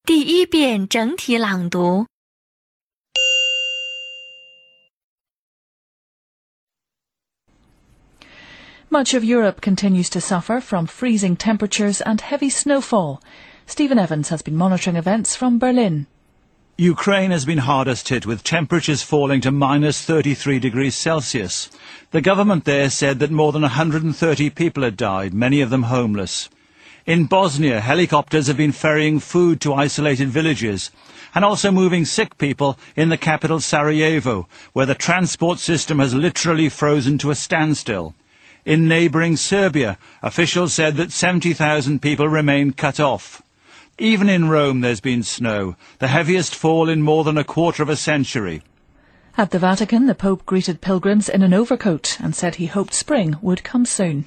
第一遍整体朗读。 Much of Europe continues to suffer from freezing temperatures and heavy snowfall. Stephen Evans has been monitoring events from Berlin. Ukraine has been hardest hit, with temperatures falling to minus 33 degrees Celsius. The government there said that more than 130 people had died, many of them homeless. In Bosnia, helicopters have been ferrying food to isolated villages and also moving sick people in the capital Sarajevo, where the transport system has literally frozen to a standstill. In neighbouring Serbia, officials said that 70,000 people remain cut off. Even in Rome there's been snow, the heaviest fall in more than a quarter of a century. At the Vatican, the Pope greeted pilgrims in an overcoat and said he hoped spring would come soon.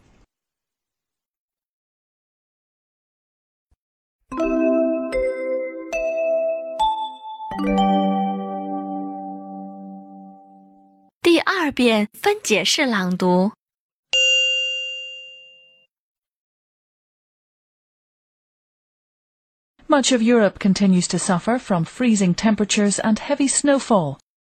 第二遍分解式朗读。 Much of Europe continues to suffer from freezing temperatures and heavy snowfall.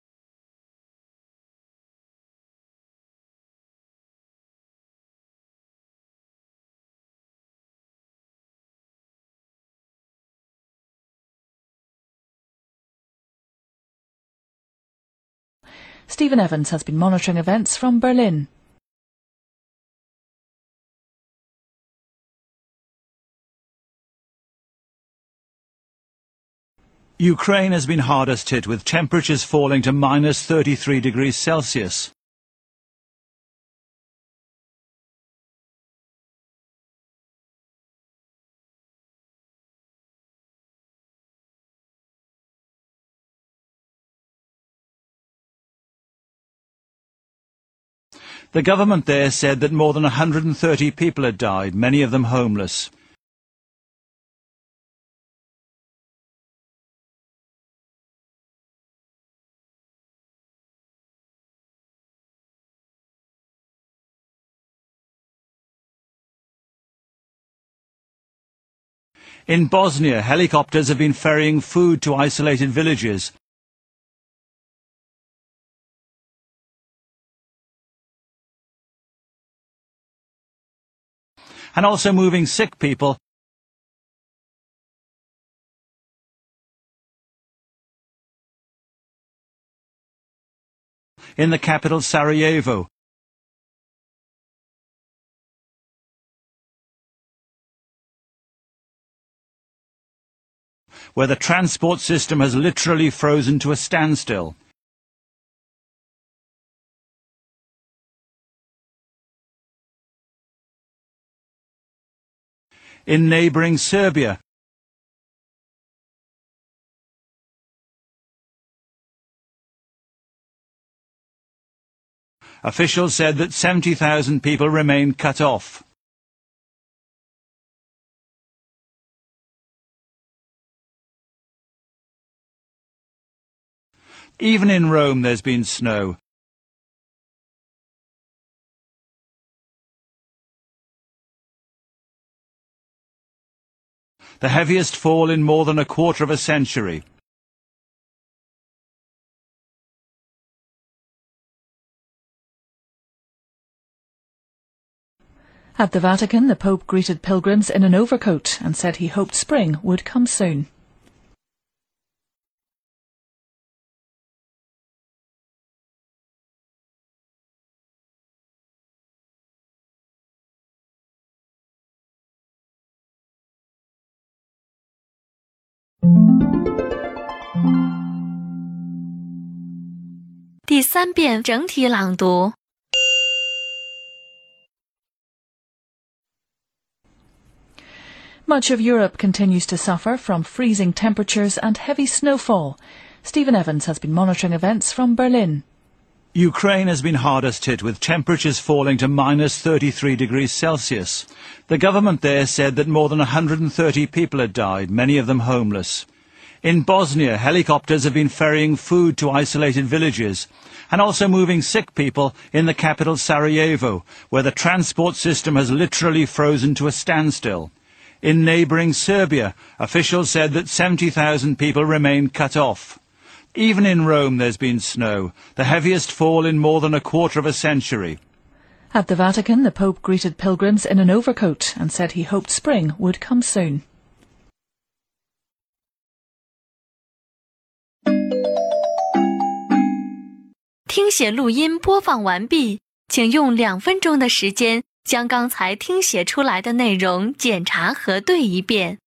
Stephen Evans has been monitoring events from Berlin. Ukraine has been hardest hit, with temperatures falling to minus 33 degrees Celsius. The government there said that more than 130 people had died, many of them homeless. In Bosnia, helicopters have been ferrying food to isolated villages and also moving sick people in the capital Sarajevo, where the transport system has literally frozen to a standstill. In neighbouring Serbia, officials said that 70,000 people remain cut off. Even in Rome there's been snow. The heaviest fall in more than a quarter of a century. At the Vatican, the Pope greeted pilgrims in an overcoat and said he hoped spring would come soon. 第三遍整体朗读。 Much of Europe continues to suffer from freezing temperatures and heavy snowfall. Stephen Evans has been monitoring events from Berlin. Ukraine has been hardest hit, with temperatures falling to minus 33 degrees Celsius. The government there said that more than 130 people had died, many of them homeless. In Bosnia, helicopters have been ferrying food to isolated villages and also moving sick people in the capital Sarajevo, where the transport system has literally frozen to a standstill. In neighbouring Serbia, officials said that 70,000 people remain cut off. Even in Rome there's been snow, the heaviest fall in more than a quarter of a century. At the Vatican, the Pope greeted pilgrims in an overcoat and said he hoped spring would come soon. 听写录音播放完毕，请用2分钟的时间将刚才听写出来的内容检查核对一遍。